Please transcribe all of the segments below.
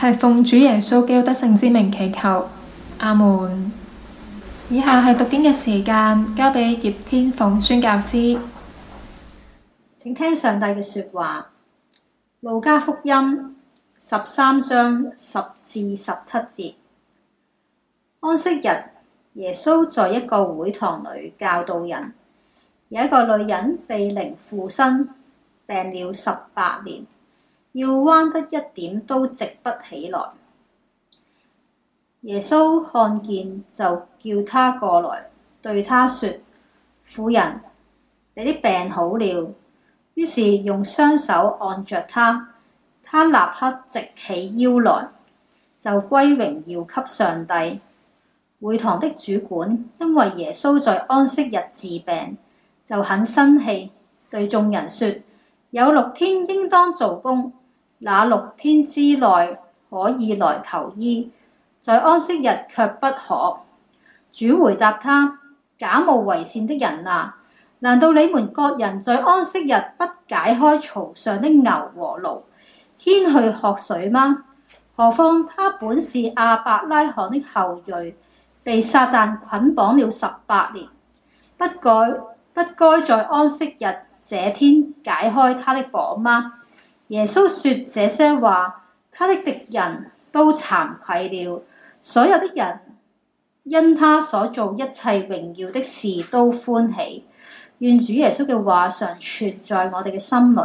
係奉主耶穌基督得勝之名祈求，阿門。以下係讀經嘅時間，交俾葉天鳳宣教師。 請聽上帝嘅說話。路加福音13章10至17節。安息日，耶穌在一個會堂裡教導人。有一個女人被靈附身，病了18年，要彎得一點都直不起來。耶穌看見，就叫她過來，對她說：婦人，你的病好了。於是用雙手按着她，她立刻直起腰來，就歸榮耀給上帝。會堂的主管因為耶穌在安息日治病，就很生氣，對眾人說：有6天應當做工，那6天之內可以來求醫，在安息日卻不可。主回答他：假冒為善的人啊，難道你們各人在安息日不解開槽上的牛和驢，牽去喝水嗎？何況他本是亞伯拉罕的後裔，被撒旦捆綁了18年，不該在安息日這天解開他的綁嗎？耶穌說這些話，他的敵人都慚愧了。所有的人因他所做一切榮耀的事都歡喜。願主耶穌嘅話常存在我哋嘅心裡。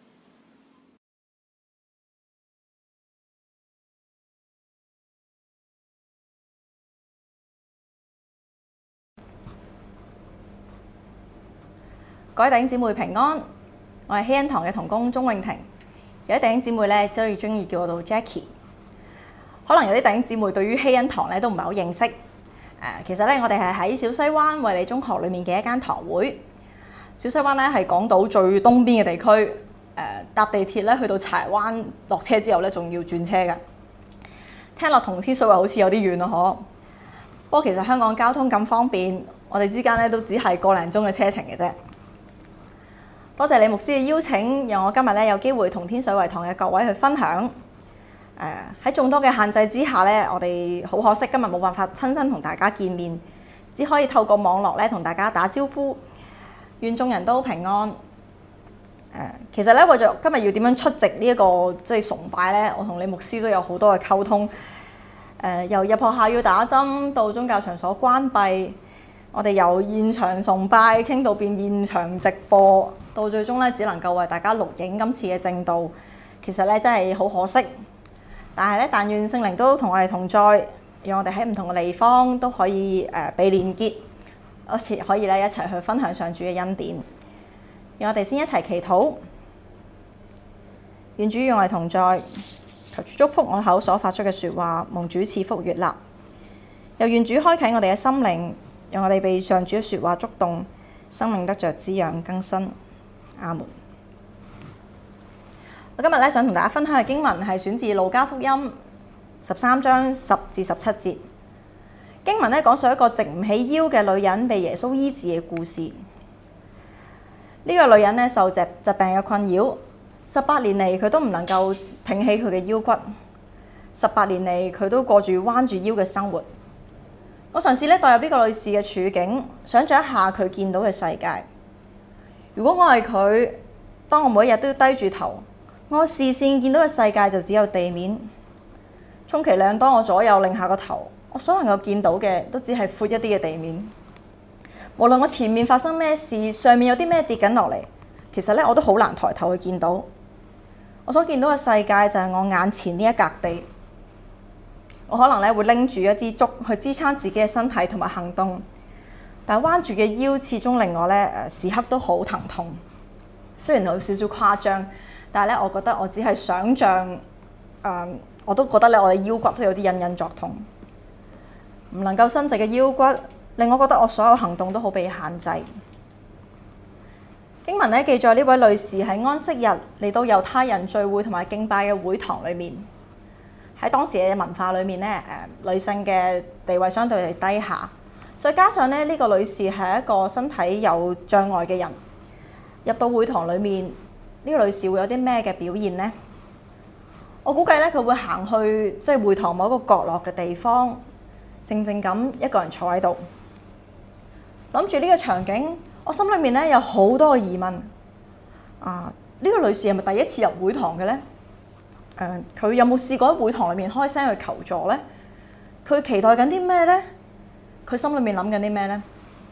各位弟兄姊妹平安，我係希恩堂嘅同工鍾永婷。有啲弟兄姊妹咧，最中意叫我做 Jackie。可能有啲弟兄姊妹對於希恩堂咧都唔係好認識。其實咧，我哋係喺小西灣衛理中學裡面嘅一間堂會。小西灣咧係港島最東邊嘅地區。搭地鐵咧去到柴灣落車之後咧，仲要轉車嘅。聽落同天水圍好似有啲遠咯，嗬。不過其實香港交通咁方便，我哋之間咧都只係個零鐘嘅車程嘅啫。多謝李牧師嘅邀請，讓我今日咧有機會同天水圍堂嘅各位去分享。喺眾多嘅限制之下咧，我哋好可惜今日冇辦法親身同大家見面，只可以透過網絡咧同大家打招呼。願眾人都平安。其實咧為咗今日要點樣出席呢一個崇拜咧，我同李牧師都有好多嘅溝通。由入學校要打針到宗教場所關閉，我哋由現場崇拜傾到變現場直播，到最終咧只能夠為大家錄影今次嘅正道。其實咧真係好可惜，但係咧但願聖靈都同我哋同在，讓我哋喺唔同嘅地方都可以被連結，好似可以咧一齊去分享上主嘅恩典。讓我哋先一齊祈禱，願主與我哋同在，求主祝福我口所發出嘅説話，蒙主賜福悅納。又願主開啟我哋嘅心靈，讓我哋被上主嘅説話觸動，生命得着滋養更新。阿門。我今日咧想同大家分享嘅經文係選自路加福音13章10至17節。經文咧講述一個直唔起腰嘅女人被耶穌醫治嘅故事。呢個女人咧受疾病嘅困擾，18年嚟佢都唔能夠挺起佢嘅腰骨，18年嚟佢都過住彎住腰嘅生活。我嘗試咧代入呢個女士嘅處境，想像一下佢見到嘅世界。如果我係佢，當我每一日都要低住頭，我視線見到嘅世界就只有地面。充其量當我左右擰下個頭，我所能夠見到嘅都只係闊一啲嘅地面。無論我前面發生咩事，上面有啲咩跌緊落嚟，其實咧我都好難抬頭去見到。我所見到嘅世界就係我眼前呢一格地。我可能咧會拎住一支竹去支撐自己嘅身體同埋行動，但係彎住嘅腰始終令我咧時刻都好疼痛。雖然有少少誇張，但係咧我覺得我只係想像，我都覺得咧我嘅腰骨都有啲隱隱作痛，唔能夠伸直嘅腰骨，令我覺得我所有行動都好被限制。經文咧記載呢位女士喺安息日嚟到猶太人聚會同埋敬拜嘅會堂裏面。喺當時嘅文化裏面咧，女性嘅地位相對係低下，再加上咧呢個女士係一個身體有障礙嘅人，入到會堂裏面，呢個女士會有啲咩嘅表現呢？ 我估計咧佢會行去即係會堂某一個角落嘅地方，靜靜咁一個人坐喺度，諗住呢個場景，我心裏面咧有好多疑問。呢個女士係咪第一次入會堂嘅咧？佢有冇試過喺會堂裏面開聲去求助咧？佢期待緊啲咩咧？佢心裏面諗緊啲咩咧？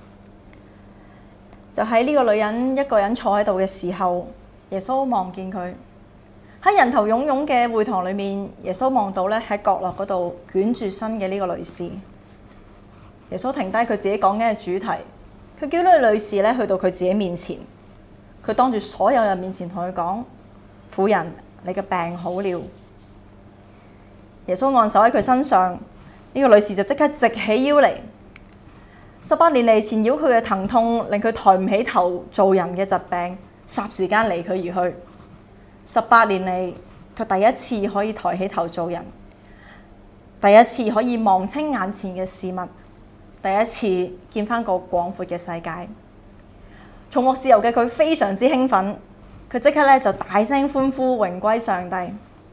就喺呢個女人一個人坐喺度嘅時候，耶穌望見佢喺人頭湧湧嘅會堂裏面。耶穌望到咧喺角落嗰度捲住身嘅呢個女士。耶穌停低佢自己講緊嘅主題，佢叫呢個女士咧去到佢自己面前。佢當住所有人面前同佢講：婦人，你嘅病好了。耶穌按手喺佢身上，呢個女士就即刻直起腰嚟。18年嚟纏繞佢嘅疼痛，令佢抬唔起頭做人嘅疾病，霎時間離佢而去。18年嚟，佢第一次可以抬起頭做人，第一次可以望清眼前嘅事物，第一次見翻個廣闊嘅世界。重獲自由嘅佢非常之興奮，佢即刻咧就大聲歡呼，榮歸上帝。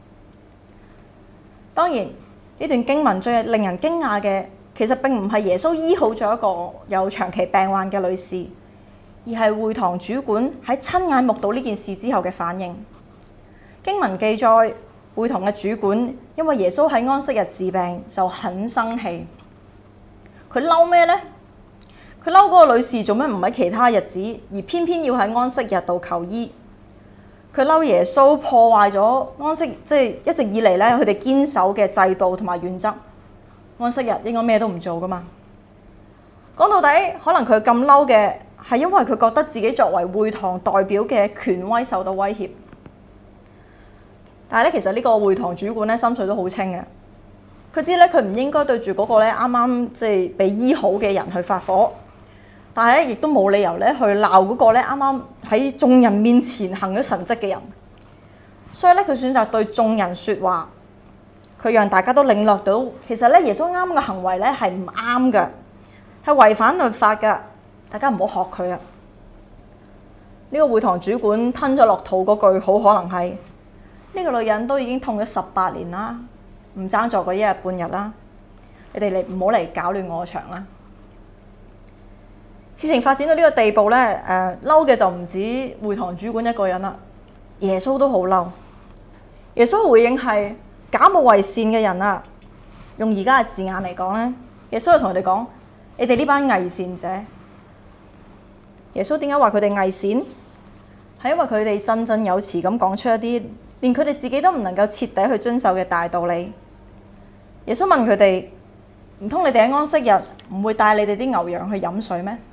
當然呢段經文最令人驚訝嘅，其實並唔係耶穌醫好咗一個有長期病患嘅女士，而係會堂主管喺親眼目睹呢件事之後嘅反應。經文記載，會堂嘅主管因為耶穌喺安息日治病，就很生氣。佢嬲咩呢？佢嬲嗰個女士做咩唔喺其他日子，而偏偏要喺安息日度求醫？佢嬲耶穌破壞咗安息，即係一直以嚟咧，佢哋堅守嘅制度同埋原則。安息日應該咩都唔做噶嘛？講到底，可能佢咁嬲嘅係因為佢覺得自己作為會堂代表嘅權威受到威脅。但係咧，其實呢個會堂主管咧心水都好清嘅。佢知咧，佢唔應該對住嗰個咧啱啱即係被醫好嘅人去發火。但係咧，亦都冇理由咧去鬧嗰個咧啱啱喺眾人面前行咗神蹟嘅人，所以咧佢選擇對眾人説話，佢讓大家都領略到，其實咧耶穌啱嘅行為咧係唔啱嘅，係違反律法嘅，大家唔好學佢啊！呢個會堂主管吞咗落肚嗰句，好可能係呢個女人都已經痛咗18年啦，唔爭在嗰一日半日啦，你哋唔好嚟搞亂我場啦！事情發展到呢個地步咧，嬲嘅就唔止會堂主管一個人啦，耶穌都好嬲。耶穌回應係假冒為善嘅人啊，用而家嘅字眼嚟講咧，耶穌就同佢哋講：你哋呢班偽善者。耶穌點解話佢哋偽善？係因為佢哋振振有詞咁講出一啲連佢哋自己都唔能夠徹底去遵守嘅大道理。耶穌問佢哋：唔通你哋喺安息日唔會帶你哋啲牛羊去飲水咩？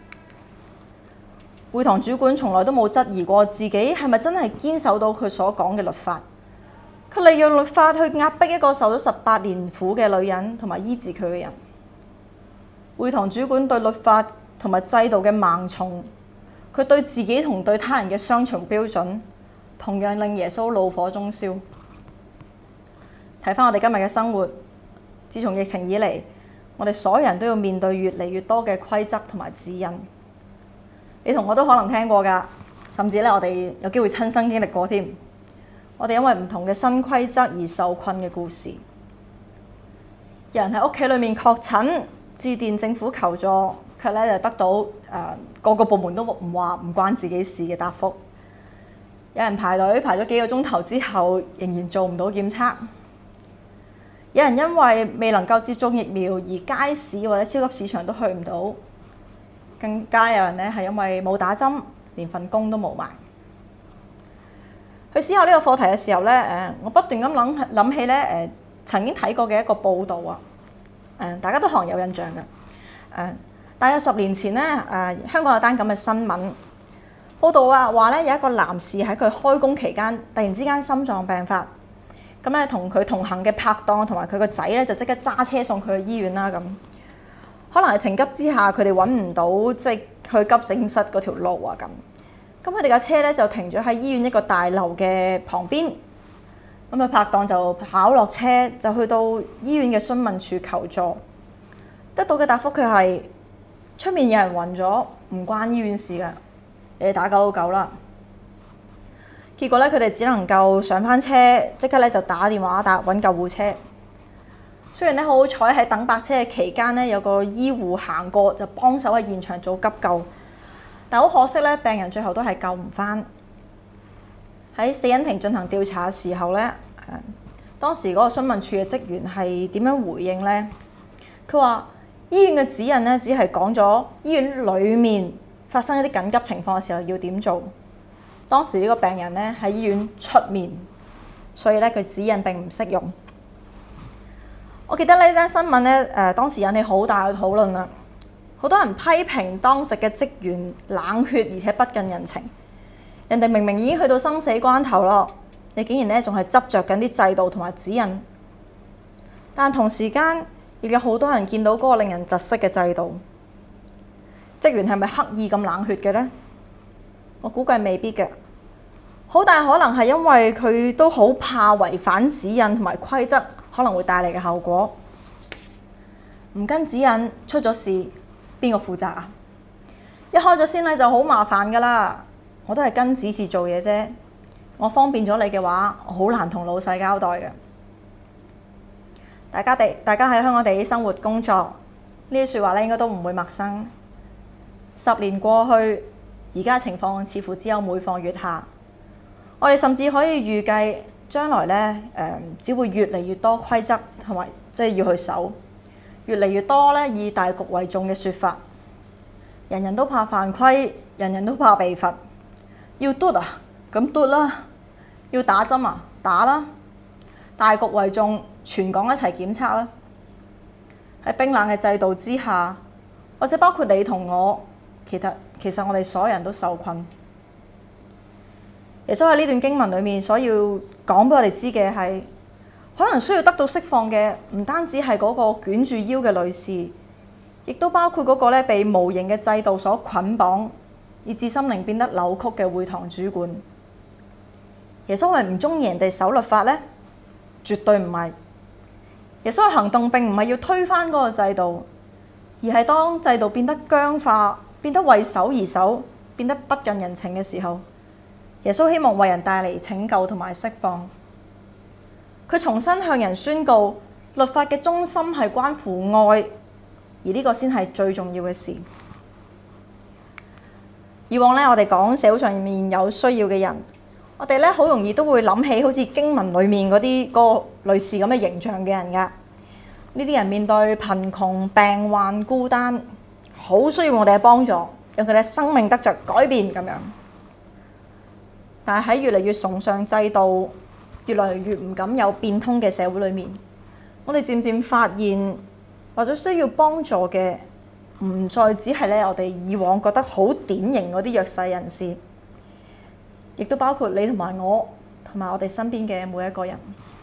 會堂主管從來都冇質疑過自己係咪真係堅守到佢所講嘅律法，佢利用律法去壓迫一個受咗18年苦嘅女人，同埋醫治佢嘅人。會堂主管對律法同埋制度嘅盲從，佢對自己同對他人嘅雙重標準，同樣令耶穌怒火中燒。睇返我哋今日嘅生活，自從疫情以嚟，我哋所有人都要面對越嚟越多嘅規則同埋指引。你同我都可能聽過㗎，甚至咧我哋有機會親身經歷過添。我哋因為唔同嘅新規則而受困嘅故事。有人喺屋企裏面確診，致電政府求助，卻咧就得到個個部門都唔話唔關自己事嘅答覆。有人排隊排咗幾個鐘頭之後，仍然做唔到檢測。有人因為未能夠接種疫苗而街市或者超級市場都去唔到。更加有人咧係因為冇打針，連份工都冇埋。去思考呢個課題嘅時候咧，我不斷咁諗起咧曾經睇過嘅一個報導啊，大家都可能有印象嘅。大約10年前咧，香港有單咁嘅新聞報導啊，話咧有一個男士喺佢開工期間，突然之間心臟病發，咁咧同佢同行嘅拍檔同埋佢個仔咧就即刻揸車送佢去醫院啦咁。可能係情急之下，佢哋揾唔到即係去急症室嗰條路啊咁。咁佢哋架車咧就停咗喺醫院一個大樓嘅旁邊。咁啊拍檔就跑落車，就去到醫院嘅詢問處求助。得到嘅答覆佢係出面有人暈咗，唔關醫院事㗎，你哋打999啦。 結果咧佢哋只能夠上翻車，即刻咧就打電話揾救護車。雖然咧好好彩喺等白車嘅期間咧，有個醫護行過就幫手喺現場做急救，但好可惜咧，病人最後都係救唔翻。喺死因庭進行調查嘅時候咧，當時嗰個詢問處嘅職員係點樣回應呢？佢話醫院嘅指引咧，只係講咗醫院裡面發生一啲緊急情況嘅時候要點做。當時呢個病人咧喺醫院出面，所以咧佢指引並唔適用。我記得呢單新聞咧，當時引起好大嘅討論啦。好多人批評當值嘅職員冷血而且不近人情。人哋明明已經去到生死關頭咯，你竟然咧仲係執着緊啲制度同埋指引。但同時間亦有好多人見到嗰個令人窒息嘅制度。職員係咪刻意咁冷血嘅呢？我估計未必嘅，好大可能係因為佢都好怕違反指引同埋規則可能會帶嚟嘅後果。唔跟指引出咗事，邊個負責啊？一開咗先例就好麻煩噶啦。我都係跟指示做嘢啫，我方便咗你嘅話，我好難同老細交代嘅。大家喺香港地生活工作，呢啲説話咧應該都唔會陌生。10年過去，而家情況似乎只有每況愈下。我哋甚至可以預計將來咧，只會越嚟越多規則同埋要去守，越嚟越多咧以大局為重嘅説法。人人都怕犯規，人人都怕被罰。要嘟啊，咁嘟啦；要打針啊，打啦。大局為重，全港一齊檢測啦。喺冰冷嘅制度之下，或者包括你同我，其實我哋所有人都受困。耶穌喺呢段經文裏面所要講俾我哋知嘅係，可能需要得到釋放嘅唔單止係嗰個捲住腰嘅女士，亦都包括嗰個咧被無形嘅制度所捆綁，以致心靈變得扭曲嘅會堂主管。耶穌係唔中意人哋守律法呢？絕對唔係。耶穌嘅行動並唔係要推翻嗰個制度，而係當制度變得僵化、變得為守而守、變得不近人情嘅時候，耶穌希望為人帶嚟拯救同埋釋放。佢重新向人宣告，律法嘅中心係關乎愛，而呢個先係最重要嘅事。以往咧，我哋講社會上面有需要嘅人，我哋咧好容易都會諗起好似經文裡面嗰個類似咁嘅形象嘅人㗎。呢啲人面對貧窮、病患、孤單，好需要我哋嘅幫助，讓佢哋生命得着改變咁樣。但係喺越嚟越崇尚制度、越來越唔敢有變通嘅社會裡面，我哋漸漸發現，或者需要幫助嘅，唔再只係咧我哋以往覺得好典型嗰啲弱勢人士，亦都包括你同埋我，同埋我哋身邊嘅每一個人。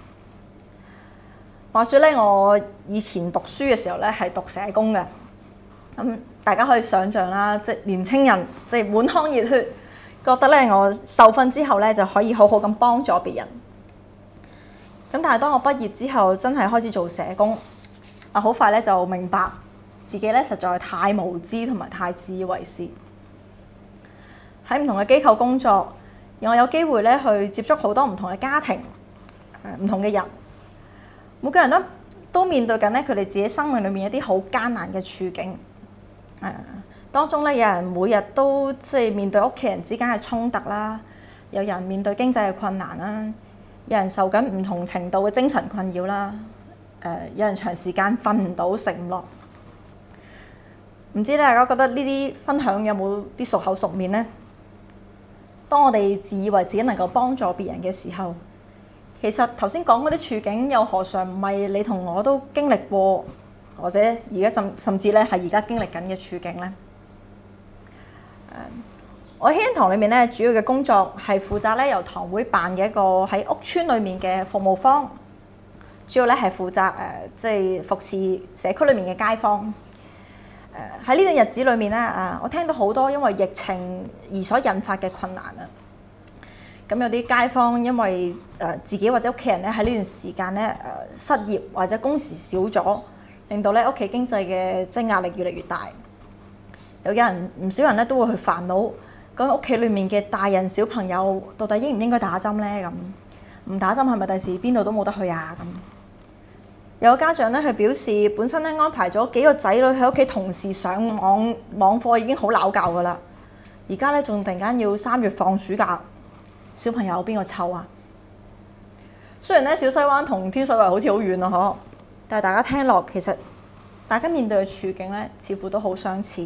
話說咧，我以前讀書嘅時候咧係讀社工嘅，咁大家可以想像啦，即係年青人即係滿腔熱血，覺得咧我受訓之後咧就可以好好咁幫助別人。咁但係當我畢業之後，真係開始做社工，好快咧就明白自己咧實在太無知同埋太自以為是。喺唔同嘅機構工作，讓我有機會咧去接觸好多唔同嘅家庭，唔同嘅人。每個人都面對緊咧佢哋自己生命裏面一啲好艱難嘅處境。當中咧有人每日都面對屋企人之間嘅衝突啦，有人面對經濟嘅困難啦，有人受緊唔同程度嘅精神困擾啦，有人長時間瞓唔到食唔落。唔知大家覺得呢啲分享有冇啲熟口熟面呢？當我哋自以為自己能夠幫助別人嘅時候，其實頭先講嗰啲處境又何嘗唔係你同我都經歷過，或者而家甚至咧係而家經歷緊嘅處境呢？我喺恩堂裏面咧，主要嘅工作係負責咧由堂會辦嘅一個喺屋邨裏面嘅服務坊，主要咧係負責服侍社區裏面嘅街坊。喺呢段日子裏面咧，我聽到好多因為疫情而所引發嘅困難啊。咁有啲街坊因為自己或者屋企人咧喺呢段時間咧失業或者工時少咗，令到咧屋企經濟嘅壓力越嚟越大。有人唔少人咧都會去煩惱咁屋企裡面嘅大人小朋友到底應唔應該打針呢？咁唔打針係咪第時邊度都冇得去啊？咁有個家長咧，佢表示本身咧安排咗幾個仔女喺屋企同時上網課已經好鬧教噶啦，而家咧仲突然間要3月放暑假，小朋友邊個湊啊？雖然咧小西灣同天水圍好似好遠啊，嗬，但係大家聽落其實大家面對嘅處境咧，似乎都好相似。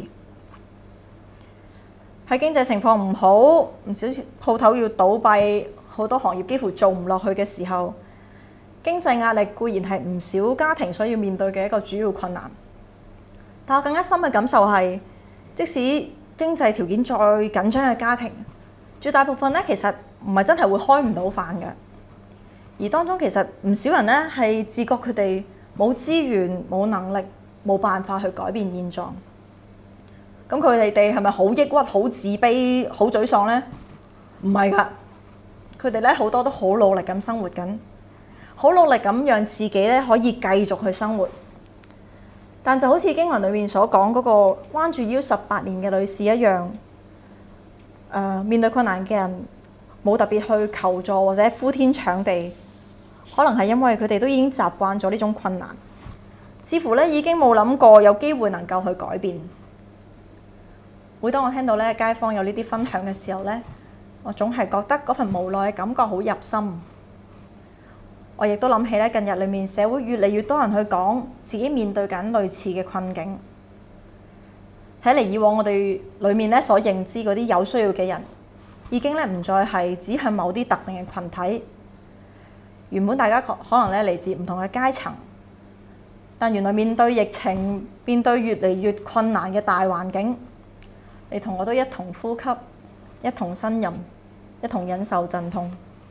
喺經濟情況唔好，唔少鋪頭要倒閉，好多行業幾乎做唔落去嘅時候，經濟壓力固然係唔少家庭所要面對嘅一個主要困難。但我更加深嘅感受係，即使經濟條件再緊張嘅家庭，絕大部分咧其實唔係真係會開唔到飯嘅。而當中其實唔少人咧係自覺佢哋冇資源、冇能力、冇辦法去改變現狀。咁佢哋係咪好抑鬱、好自卑、好沮喪呢？唔係㗎，佢哋咧好多都好努力咁生活緊，好努力咁讓自己咧可以繼續去生活。但就好似經文裏面所講嗰個彎住腰18年嘅女士一樣，面對困難嘅人冇特別去求助或者呼天搶地，可能係因為佢哋都已經習慣咗呢種困難，似乎咧已經冇諗過有機會能夠去改變。每當我聽到咧街坊有呢啲分享嘅時候咧，我總係覺得嗰份無奈嘅感覺好入心。我亦都諗起咧近日裏面社會越嚟越多人去講自己面對緊類似嘅困境。睇嚟以往我哋裏面咧所認知嗰啲有需要嘅人，已經咧唔再係指向某啲特定嘅群體。原本大家可能咧嚟自唔同嘅階層，但原來面對疫情，面對越嚟越困難嘅大環境，你同我都一同呼吸，一同呻吟，一同忍受陣痛。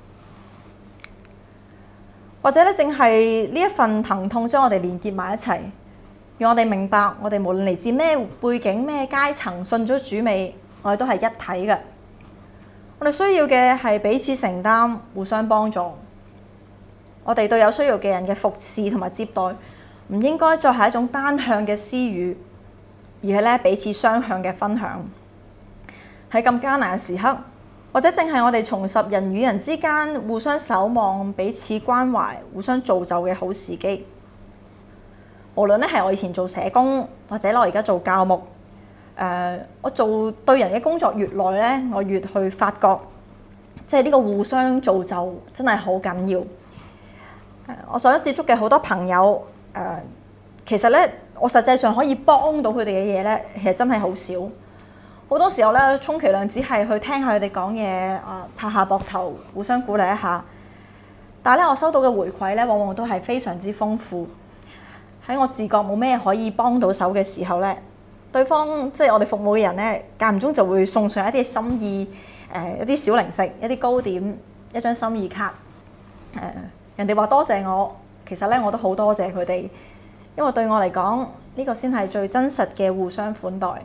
或者咧，正係呢一份疼痛將我哋連結埋一齊，讓我哋明白，我哋無論嚟自咩背景、咩階層，信咗主未，我哋都係一體嘅。我哋需要嘅係彼此承擔、互相幫助。我哋對有需要嘅人嘅服侍同埋接待，唔應該再係一種單向嘅施予，而係咧彼此雙向嘅分享。喺咁艱難嘅時刻，或者正係我哋重拾人與人之間互相守望、彼此關懷、互相造就嘅好時機。無論咧係我以前做社工，或者我而家做教牧，我做對人嘅工作越耐咧，我越去發覺，即係呢個互相造就真係好緊要。我所接觸嘅好多朋友，其實咧我實際上可以幫到佢哋嘅嘢咧，其實真係好少。好多時候咧，充其量只係去聽下佢哋講嘢，拍下膊頭，互相鼓勵一下。但係咧，我收到嘅回饋咧，往往都係非常之豐富。喺我自覺冇咩可以幫到手嘅時候咧，對方即係我哋服務嘅人咧，間唔中就會送上一啲心意，一啲小零食，一啲糕點，一張心意卡。人哋話多謝我，其實咧我都好多謝佢哋，因為對我嚟講，呢個先係最真實嘅互相款待。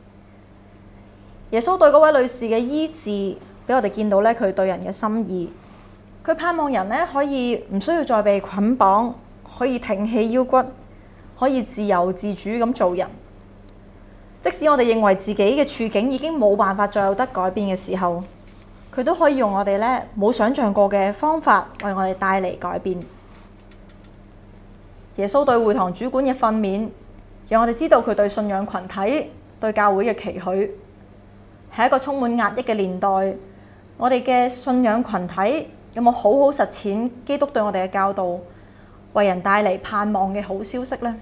耶穌對嗰位女士嘅醫治，俾我哋見到咧佢對人嘅心意。佢盼望人咧可以唔需要再被捆綁，可以挺起腰骨，可以自由自主咁做人。即使我哋認為自己嘅處境已經冇辦法再有得改變嘅時候，佢都可以用我哋咧冇想象過嘅方法為我哋帶嚟改變。耶穌對會堂主管嘅訓勉，讓我哋知道佢對信仰群體、對教會嘅期許。喺一個充滿壓抑嘅年代，我哋嘅信仰群體有冇好好實踐基督對我哋嘅教導，為人帶嚟盼望嘅好消息呢？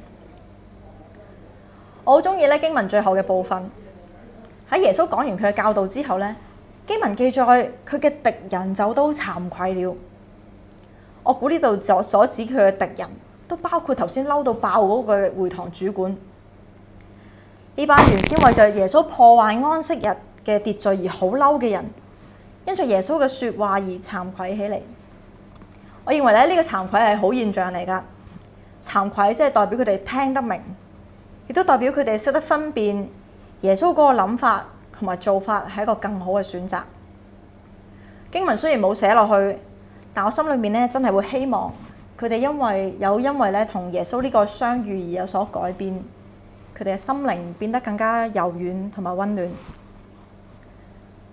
我好中意咧經文最後嘅部分，喺耶穌講完佢嘅教導之後咧，經文記載佢嘅敵人就都慚愧了。我估呢度所指佢嘅敵人，都包括頭先嬲到爆嗰個會堂主管。呢班原先為着耶穌破壞安息日嘅秩序而好嬲嘅人，因着耶穌嘅說話而慚愧起嚟。我認為咧呢個慚愧係好現象嚟㗎。慚愧即係代表佢哋聽得明，亦都代表佢哋識得分辨耶穌嗰個諗法同埋做法係一個更好嘅選擇。經文雖然冇寫落去，但我心裏面咧真係會希望佢哋因為咧同耶穌呢個相遇而有所改變。佢哋嘅心靈變得更加柔軟同埋溫暖。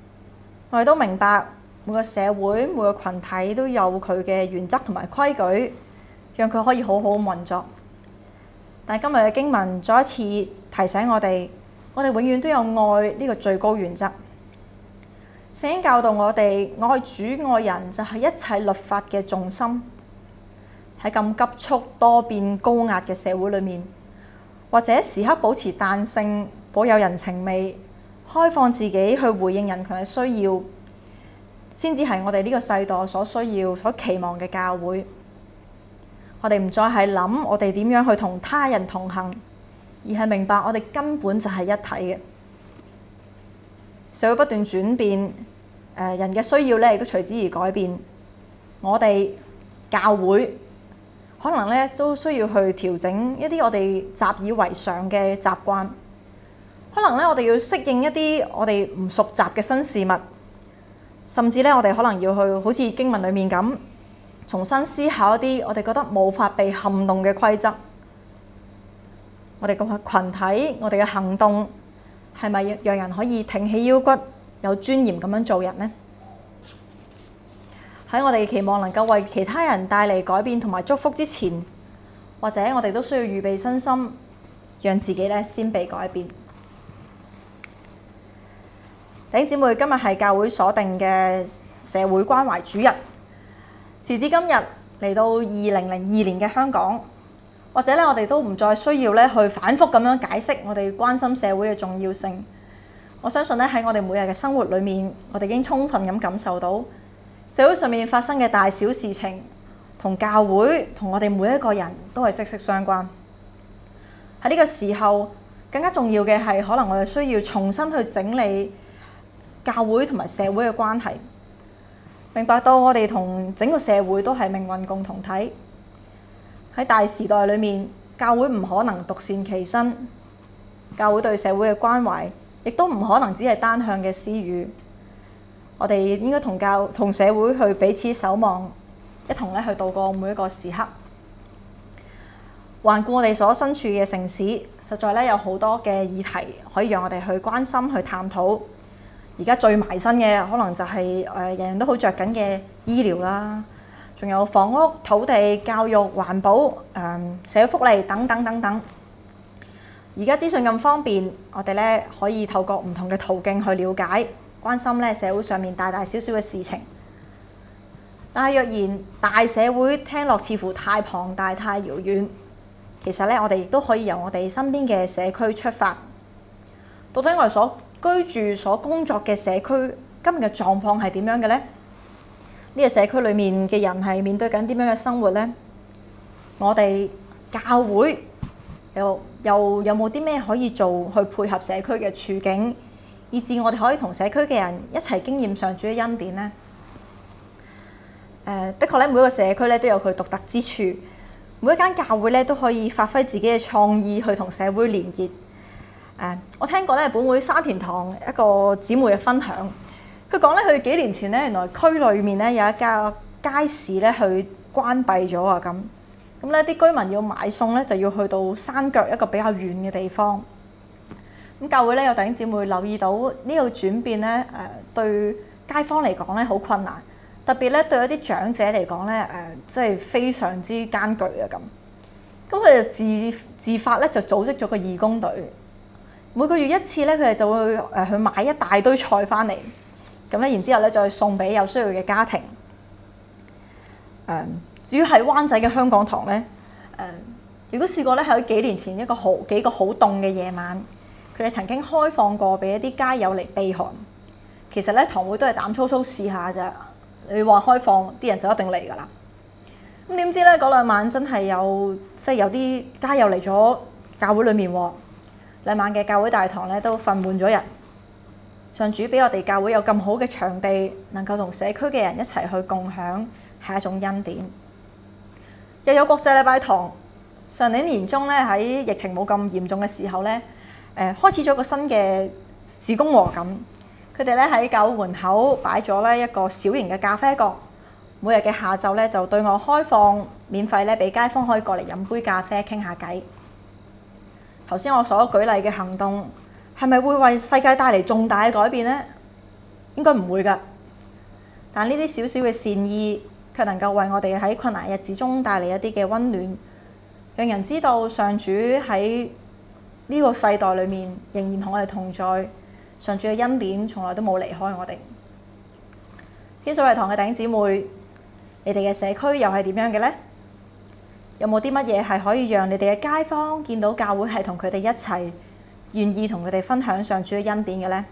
我哋都明白每個社會、每個群體都有佢嘅原則同埋規矩，讓佢可以好好咁運作。但係今日嘅經文再一次提醒我哋永遠都有愛呢個最高原則。聖經教導我哋愛主愛人就係一切律法嘅重心。喺咁急速多變高壓嘅社會裏面，或者時刻保持彈性，保有人情味，開放自己去回應人群嘅需要，先至係我哋呢個世代所需要、所期望嘅教會。我哋唔再係諗我哋點樣去同他人同行，而係明白我哋根本就係一體嘅。社會不斷轉變，人嘅需要咧亦都隨之而改變。我哋教會可能咧都需要去調整一啲我哋習以為常嘅習慣。可能咧我哋要適應一啲我哋唔熟習嘅新事物，甚至咧我哋可能要去好似經文裡面咁，重新思考一啲我哋覺得無法被撼動嘅規則。我哋個群體，我哋嘅行動係咪讓人可以挺起腰骨，有尊嚴咁樣做人呢？喺我哋期望能夠為其他人帶嚟改變同埋祝福之前，或者我哋都需要預備身心，讓自己咧先被改變。弟兄姊妹，今日係教會所定嘅社會關懷主日。時至今日嚟到2002年嘅香港，或者咧我哋都唔再需要咧去反覆咁樣解釋我哋關心社會嘅重要性。我相信咧喺我哋每日嘅生活裏面，我哋已經充分咁感受到社會上面發生嘅大小事情，同教會同我哋每一個人都係息息相關。喺呢個時候，更加重要嘅係可能我哋需要重新去整理教會同埋社會嘅關係，明白到我哋同整個社會都係命運共同體。喺大時代裏面，教會唔可能獨善其身，教會對社會嘅關懷亦都唔可能只係單向嘅施予。我哋應該同社會去彼此守望，一同咧去度過每一個時刻。環顧我哋所身處嘅城市，實在咧有好多嘅議題可以讓我哋去關心、去探討。而家最埋身嘅可能就係人人都好着緊嘅醫療啦，仲有房屋、土地、教育、環保、社會福利等等等等。而家資訊咁方便，我哋咧可以透過唔同嘅途徑去了解、關心咧社會上面大大小小嘅事情。但係若然大社會聽落似乎太龐大、太遙遠，其實咧我哋亦都可以由我哋身邊嘅社區出發。到底我哋所居住、所工作嘅社區今日嘅狀況係點樣嘅呢？呢個社區裡面嘅人係面對緊點樣嘅生活呢？我哋教會又有冇啲咩可以做去配合社區嘅處境，以致我哋可以同社區嘅人一齊經驗上主嘅恩典呢？的確咧，每一個社區咧都有佢獨特之處，每一間教會咧都可以發揮自己嘅創意去同社會連結。我聽過咧，本會沙田堂一個姊妹嘅分享，佢講咧，佢幾年前咧，原來區裏面咧有一間街市咧去關閉咗啊，咁咧啲居民要買餸咧就要去到山腳一個比較遠嘅地方。咁教會咧有弟兄姊妹留意到呢個轉變咧，對街坊嚟講咧好困難，特別咧對一啲長者嚟講咧，即係非常之艱巨啊咁。咁佢就自發咧就組織咗個義工隊。每個月一次咧，佢哋就會去買一大堆菜翻嚟，咁咧然之後咧再送俾有需要嘅家庭。至於喺灣仔嘅香港堂咧，亦都試過咧喺幾年前幾個好凍嘅夜晚，佢哋曾經開放過俾一啲街友嚟避寒。其實咧堂會都係膽粗粗試下咋，你話開放啲人就一定嚟㗎啦。咁點知咧嗰兩晚真係有啲街友嚟咗教會裡面喎。兩晚嘅教會大堂咧都瞓滿咗人，上主俾我哋教會有咁好嘅場地，能夠同社區嘅人一齊去共享，係一種恩典。又有國際禮拜堂，上年年中咧喺疫情冇咁嚴重嘅時候咧，開始咗個新嘅事工喎咁。佢哋咧喺教會門口擺咗咧一個小型嘅咖啡角，每日嘅下晝咧就對外開放，免費咧俾街坊可以過嚟飲杯咖啡傾下偈。頭先我所舉例嘅行動係咪會為世界帶嚟重大嘅改變呢？ 應該唔會㗎。但呢啲少少嘅善意，卻能夠為我哋喺困難日子中帶嚟一啲嘅溫暖，讓人知道上主喺呢個世代裏面仍然同我哋同在。上主嘅恩典從來都冇離開我哋。天水圍堂嘅弟兄姊妹，你哋嘅社區又係點樣嘅呢？有冇啲乜嘢係可以讓你哋嘅街坊見到教會係同佢哋一齊，願意同佢哋分享上主嘅恩典嘅呢？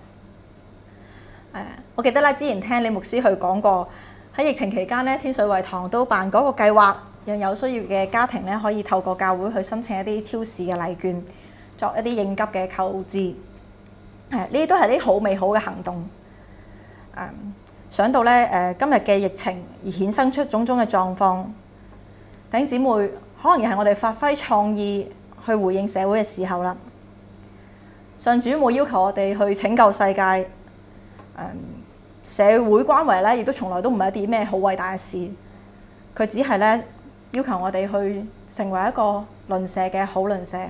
我記得咧，之前聽李牧師去講過，喺疫情期間咧，天水圍堂都辦嗰個計劃，讓有需要嘅家庭咧可以透過教會去申請一啲超市嘅禮券，作一啲應急嘅購置。呢啲都係啲好美好嘅行動。想到咧今日嘅疫情而衍生出種種嘅狀況，弟兄姊妹可能又係我哋發揮創意去回應社會嘅時候啦。上主冇要求我哋去拯救世界，社會關懷咧亦都從來都唔係一啲咩好偉大嘅事。佢只係咧要求我哋去成為一個鄰舍嘅好鄰舍。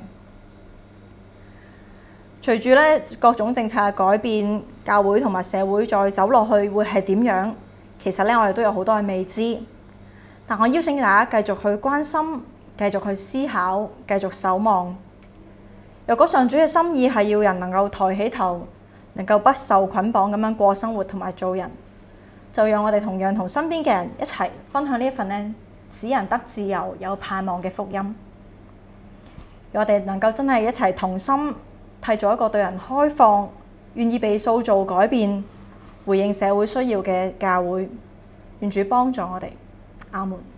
隨住咧各種政策嘅改變，教會同埋社會再走落去會係點樣？其實咧我哋都有好多嘅未知。但我邀請大家繼續去關心，繼續去思考，繼續守望。若果上主嘅心意係要人能夠抬起頭，能夠不受捆綁咁樣過生活同埋做人，就讓我哋同樣同身邊嘅人一齊分享呢一份咧使人得自由、有盼望嘅福音。讓我哋能夠真係一齊同心，締造一個對人開放、願意被塑造改變、回應社會需要嘅教會。願主幫助我哋，阿門。